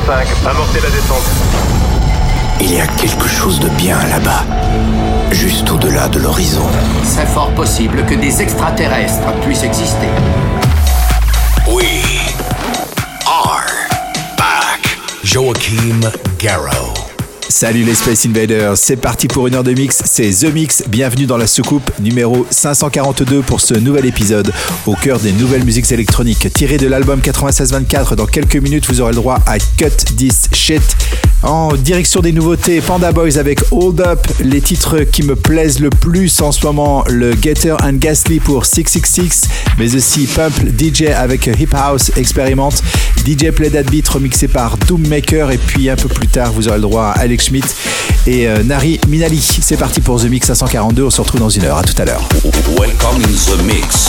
5, amorcez la descente. Il y a quelque chose de bien là-bas, juste au-delà de l'horizon. C'est fort possible que des extraterrestres puissent exister. We are back. Joachim Garraud. Salut les Space Invaders, c'est parti pour une heure de mix, c'est The Mix, bienvenue dans la soucoupe numéro 542 pour ce nouvel épisode au cœur des nouvelles musiques électroniques tirées de l'album 96-24. Dans quelques minutes vous aurez le droit à Cut This Shit. En direction des nouveautés, Panda Boys avec Hold Up, les titres qui me plaisent le plus en ce moment, le Getter and Ghastly pour 666, mais aussi Pump DJ avec Hip House Expérimente, DJ Play That Beat remixé par Doommaker, et puis un peu plus tard vous aurez le droit à Alex Schmidt et Nari Minali. C'est parti pour The Mix 542, on se retrouve dans une heure, à tout à l'heure. Welcome in The Mix.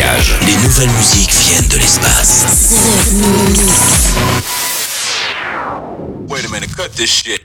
voyage. Les nouvelles musiques viennent de l'espace. Wait a minute, cut this shit.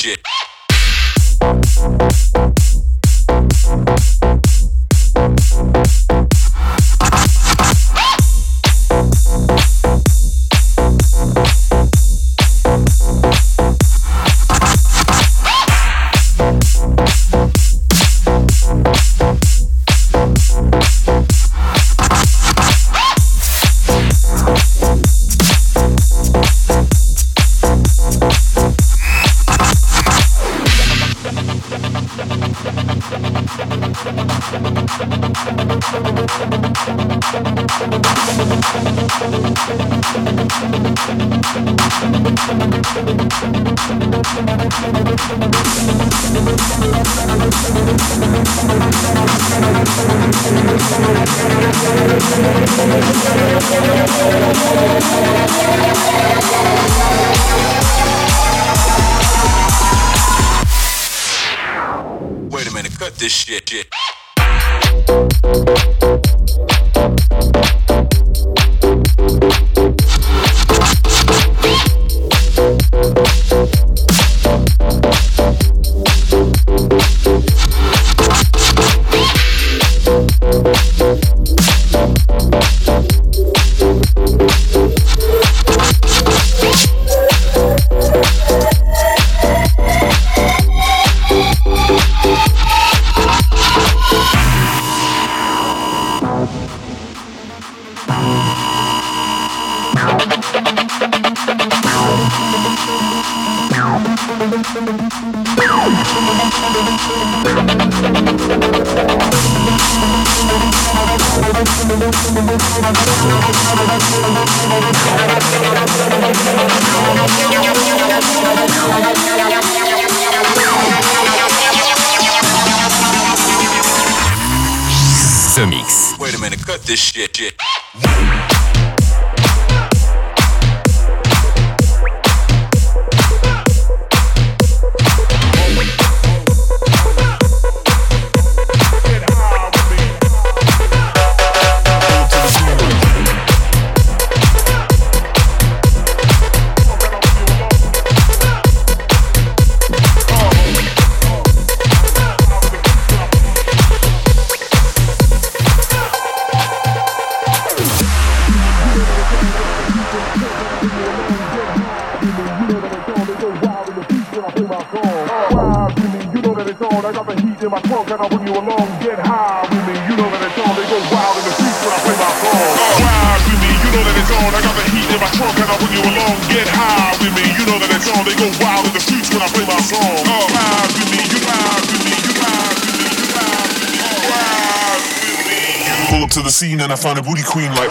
Wait a minute, cut this shit. The Mix. Wait a minute, cut this shit. To the scene and I found a booty queen like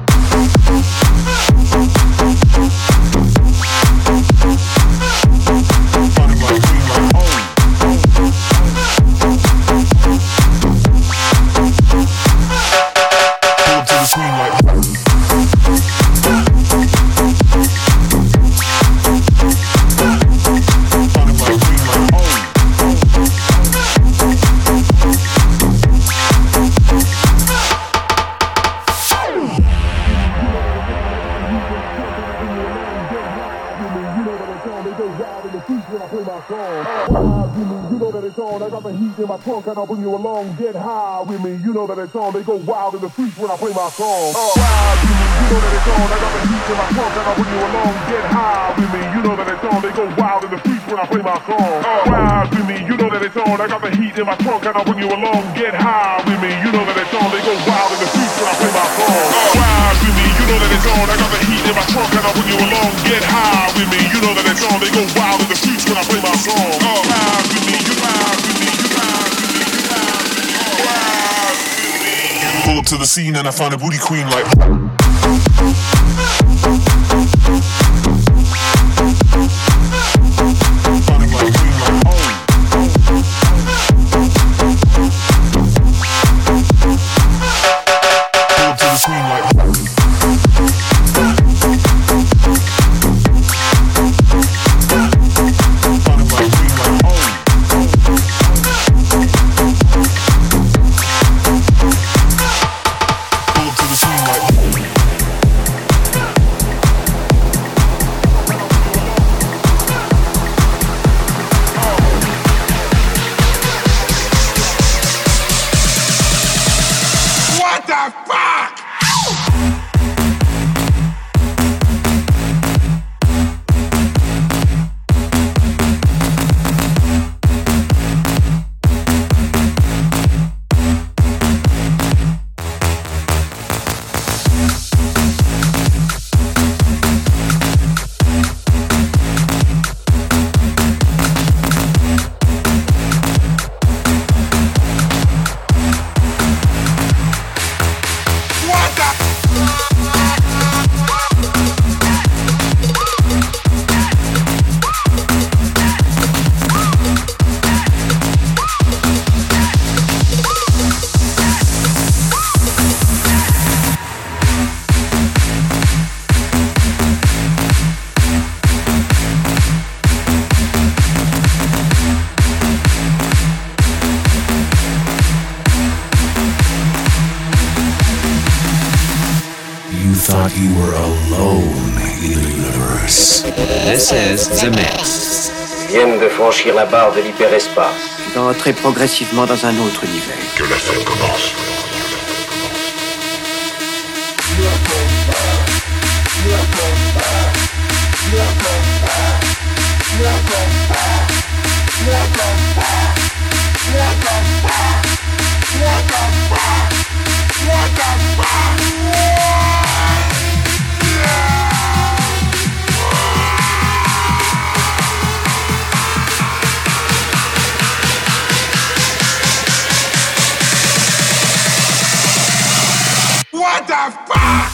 my trunk and I'll bring you along. Get high with me, you know that it's on. They go wild in the streets when I play my song. Ride with me, you know that it's on. I got the heat in my trunk and I'll bring you along. Get high with me, you know that it's on. They go wild in the streets when I play my song. Ride with me, you know that it's on. I got the heat in my trunk and I'll bring you along. Get high with me, you know that it's on. They go wild in the streets when I play my song. Ride with me, you know that it's on. I got the heat in my trunk and I'll bring you along. Get high with me, you know that it's on. They go wild in the streets when I play my song. Ride with me, you ride with me. Pull up to the scene and I found a booty queen like you were alone in the universe. This is The Mix. Viennent de franchir la barre de l'hyperespace. D'entrer progressivement dans un autre univers. Que la fête commence. What the fuck?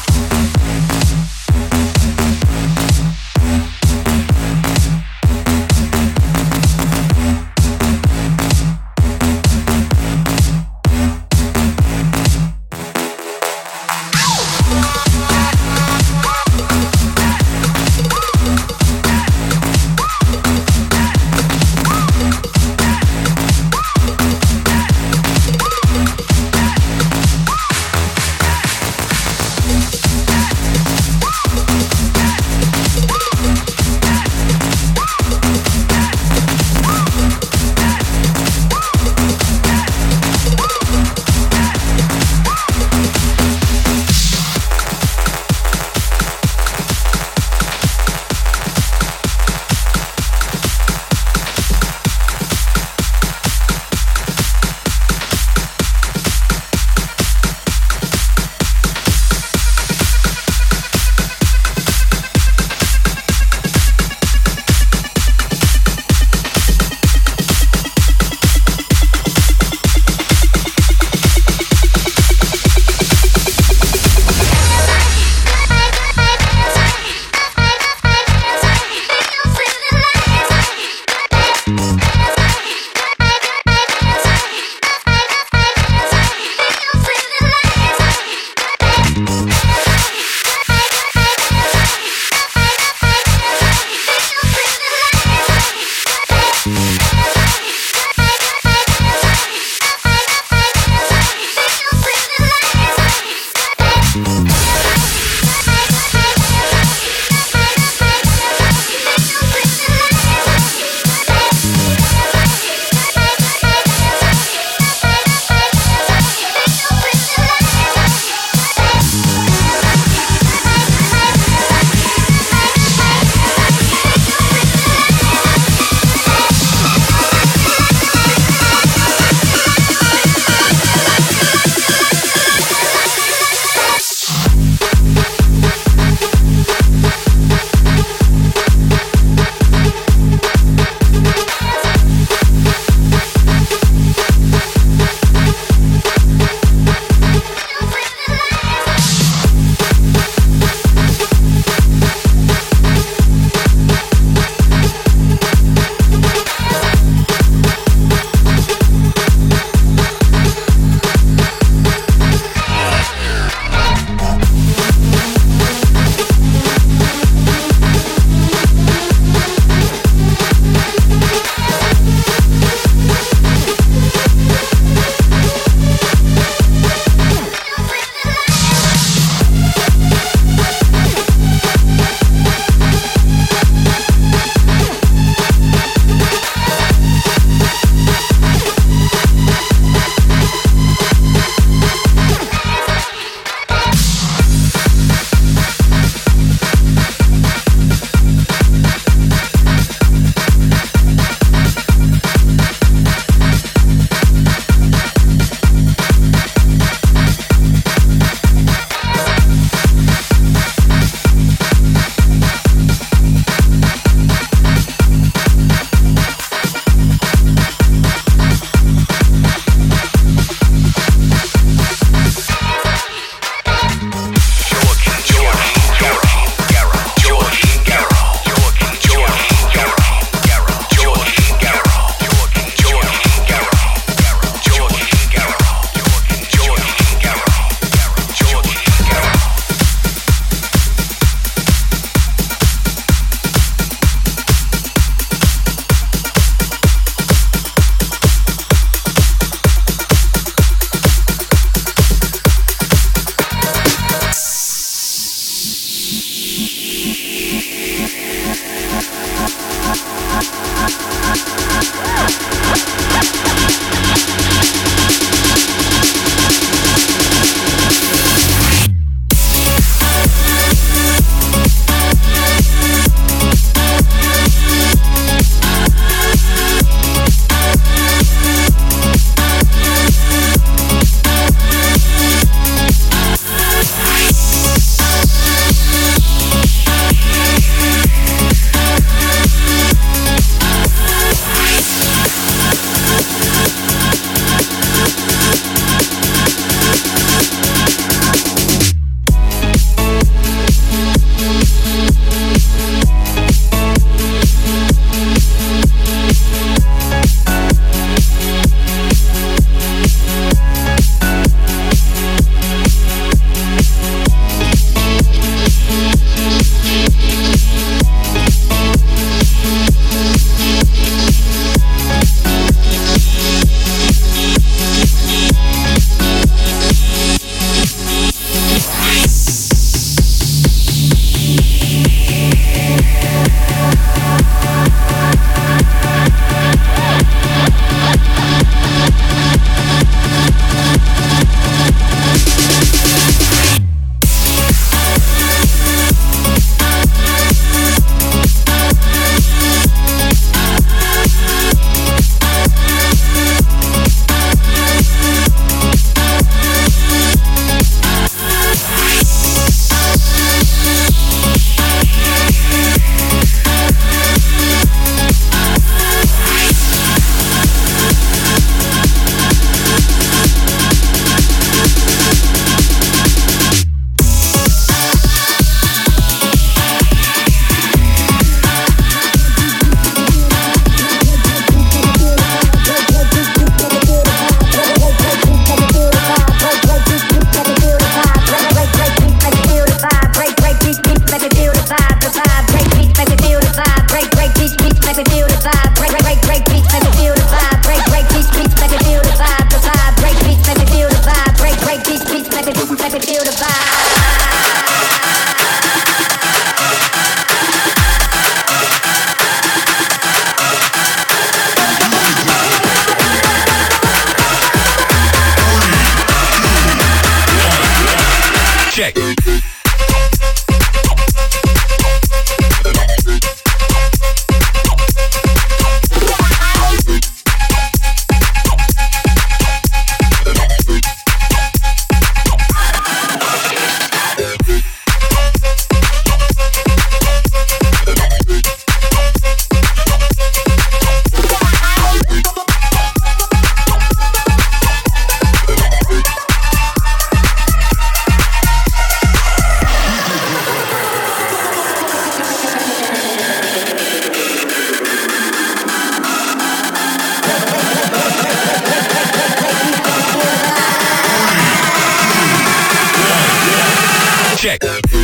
Check.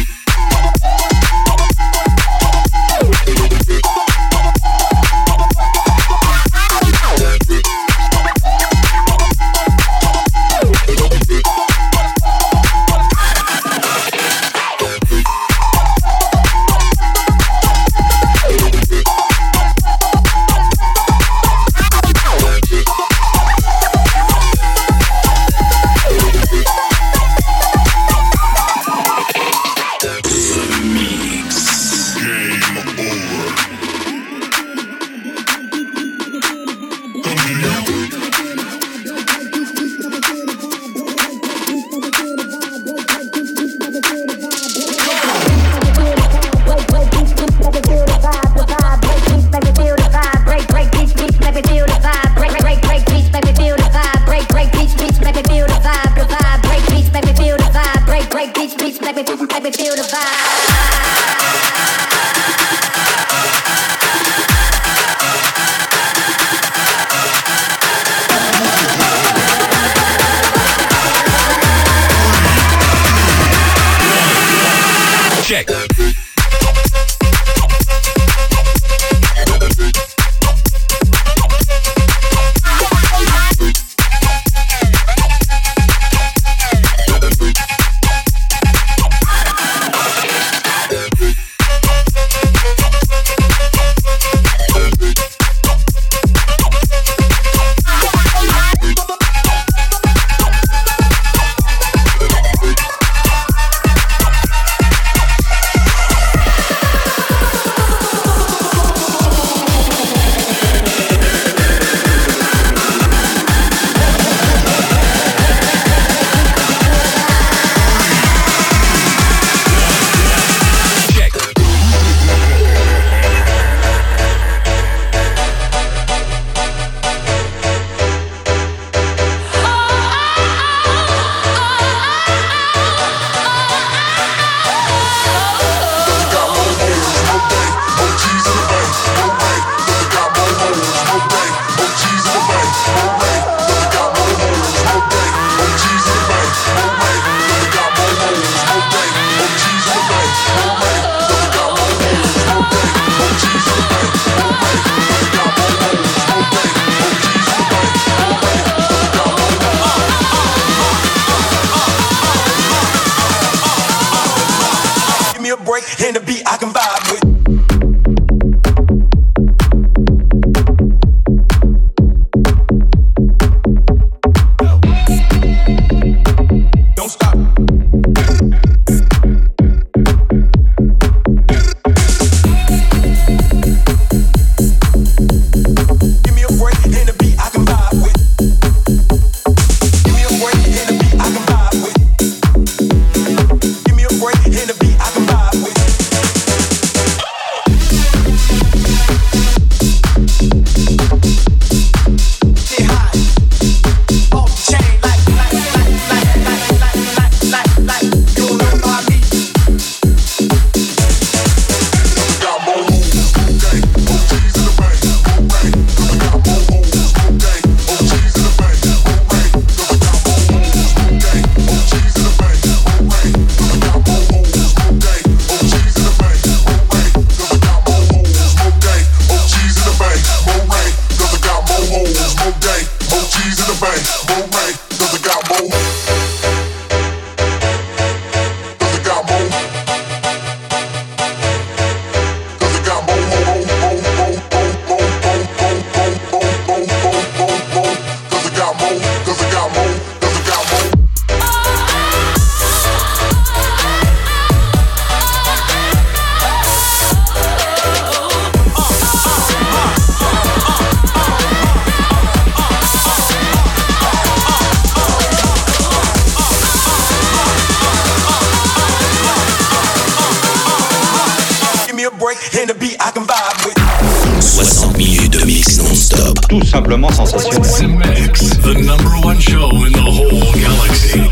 Check. And the beat I can vibe with. And the beat I can vibe with. 60 minutes de mix non-stop. Tout simplement sensationnel. The Mix, the #1 show in the whole galaxy.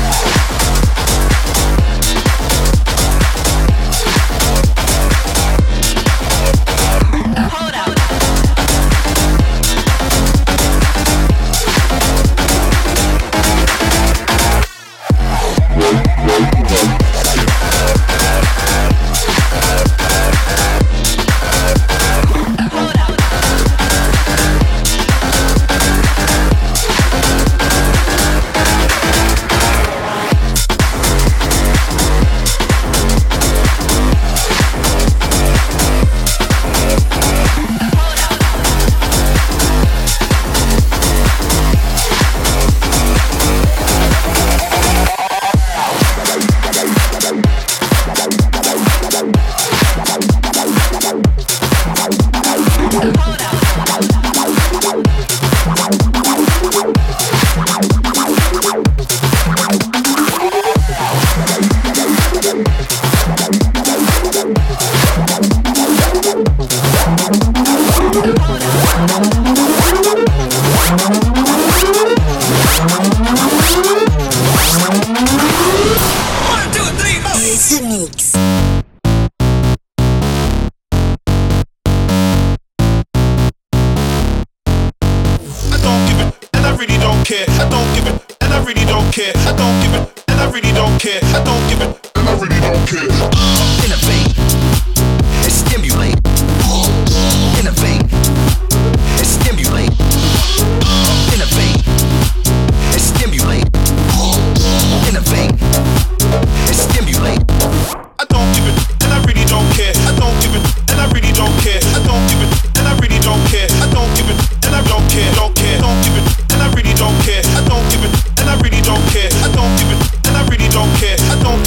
I don't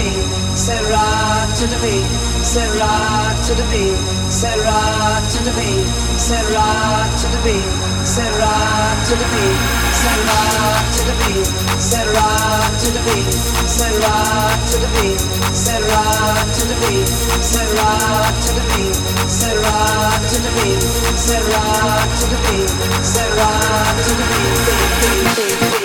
beat, say rock to the beat, say rock to the beat, say rock to the beat, say rock to the beat, say rock to the beat, say rock to the beat, say rock to the beat, say rock to the beat, say rock to the beat, say rock to the beat, say rock to the beat, say rock to the beat, say rock to the beat.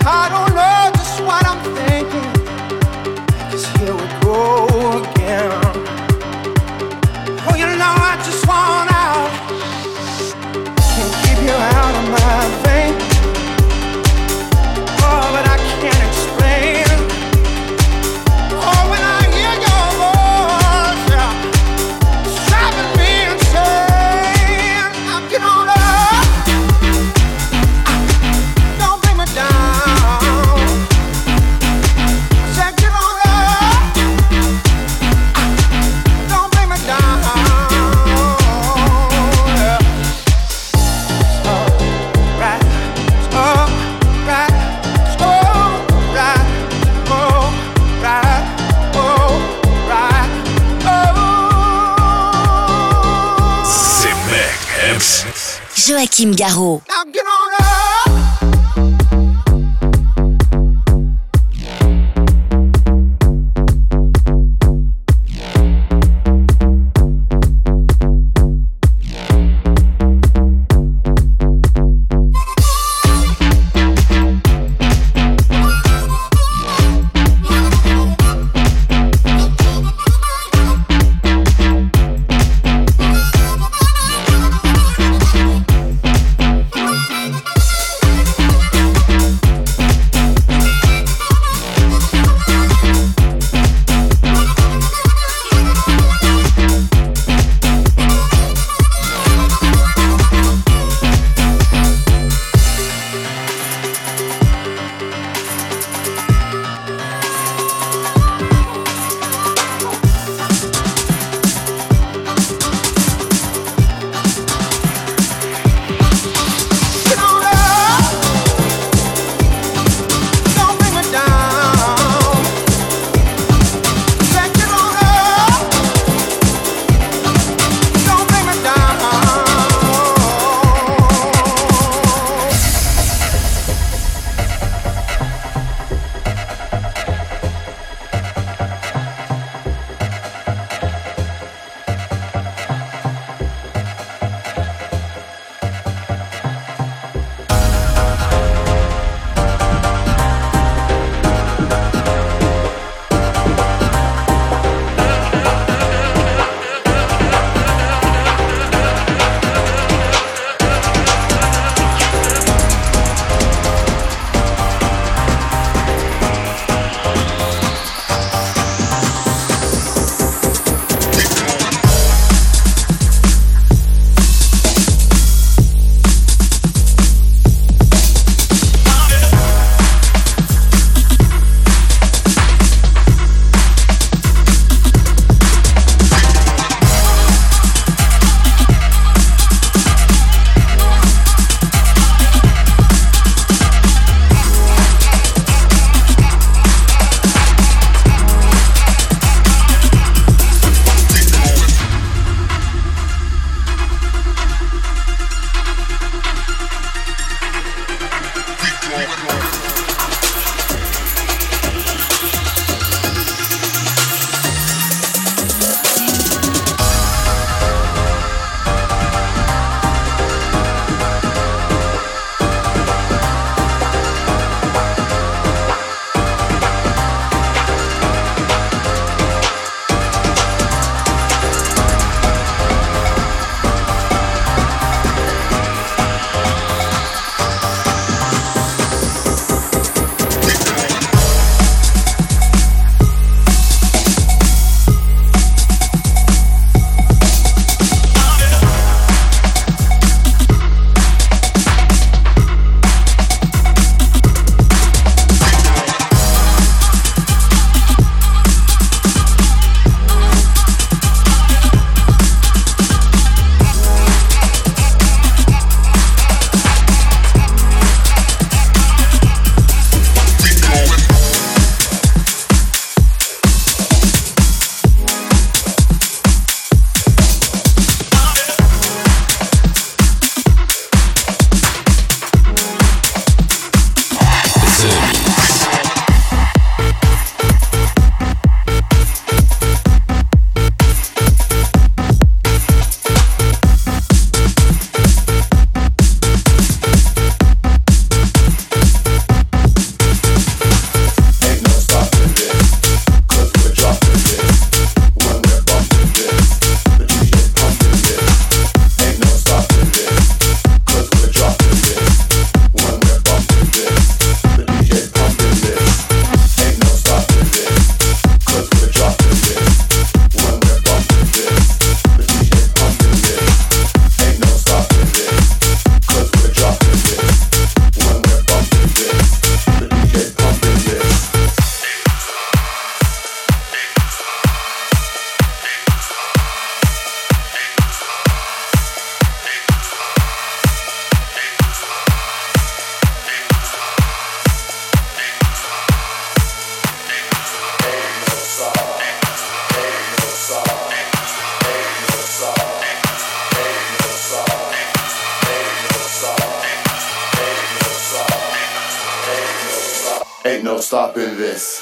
I don't know just what I'm thinking, 'cause here we go again. Oh, you know I just want out, can't keep you out of my vein. Oh, but I can't explain. Oh, when I hear your voice, yeah, it's driving me insane. Now get on up, don't bring me down. I said get on up, don't bring me down. Yeah. Alright, alright, alright, alright, alright, oh. C'est Mec MC. Joachim Garraud. Now get on up. Ain't no stopping this.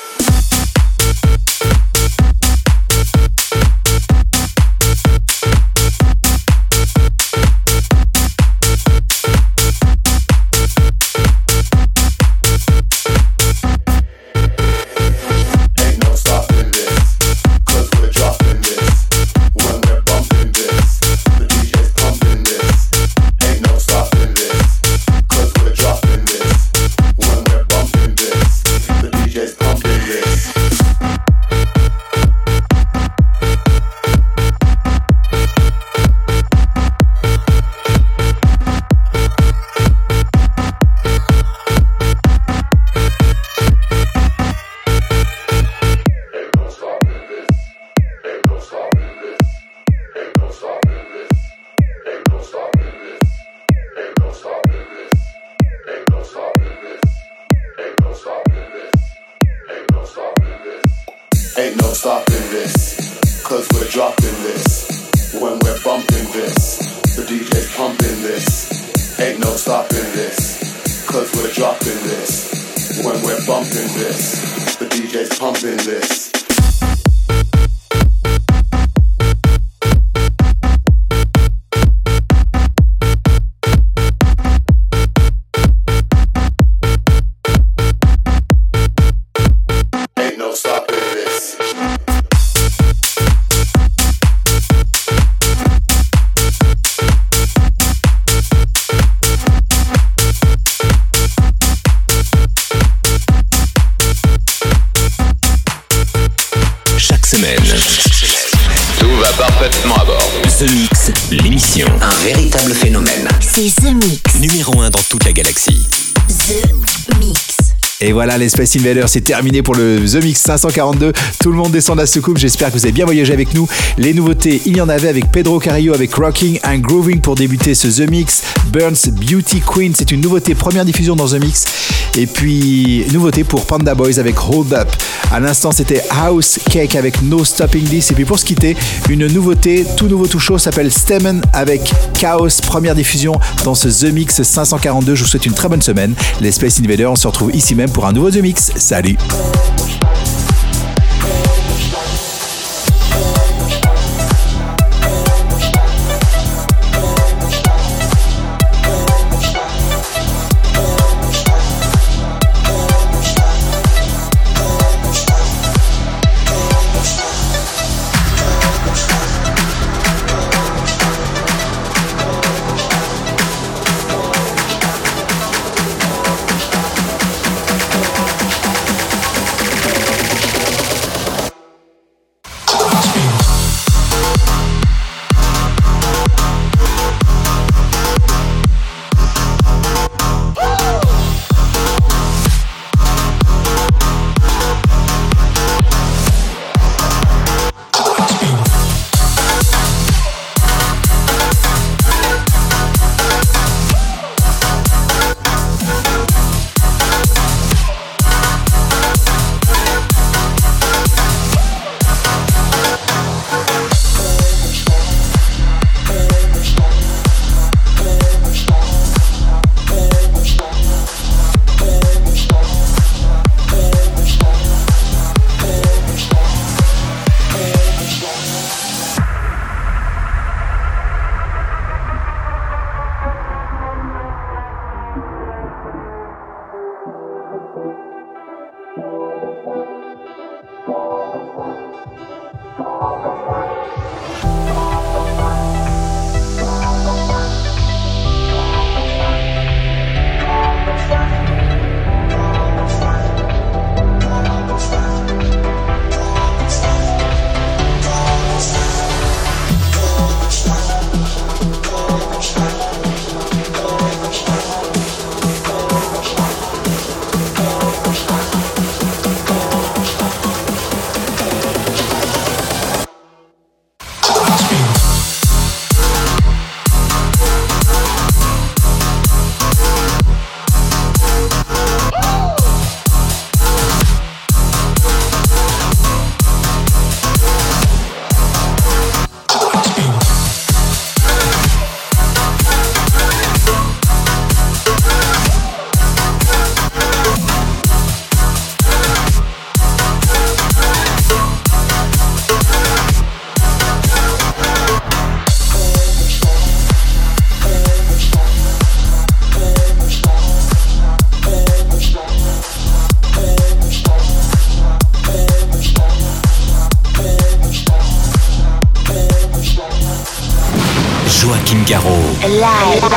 Ain't no stopping this, cause we're dropping this. When we're bumping this, the DJ's pumping this. Ain't no stopping this, cause we're dropping this. When we're bumping this, the DJ's pumping this. Ain't no stopping this. Chaque semaine, tout va parfaitement à bord. The Mix, l'émission. Un véritable phénomène. C'est The Mix. Numéro 1 dans toute la galaxie. The Mix. Et voilà, les Space Invaders, c'est terminé pour le The Mix 542. Tout le monde descend de la soucoupe. J'espère que vous avez bien voyagé avec nous. Les nouveautés, il y en avait avec Pedro Carrillo avec Rocking and Grooving pour débuter ce The Mix. Burns Beauty Queen, c'est une nouveauté, première diffusion dans The Mix. Et puis, nouveauté pour Panda Boys avec Hold Up. À l'instant, c'était House Cake avec No Stopping This. Et puis pour se quitter, une nouveauté, tout nouveau, tout chaud, s'appelle Stemmen avec Chaos. Première diffusion dans ce The Mix 542. Je vous souhaite une très bonne semaine. Les Space Invaders, on se retrouve ici même pour un nouveau The Mix. Salut! Joachim Garraud. Live.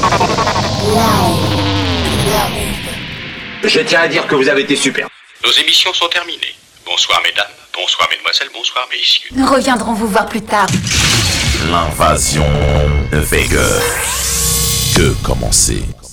Je tiens à dire que vous avez été super. Nos émissions sont terminées. Bonsoir mesdames, bonsoir mesdemoiselles, bonsoir messieurs. Nous reviendrons vous voir plus tard. L'invasion de Vega. Que commencer?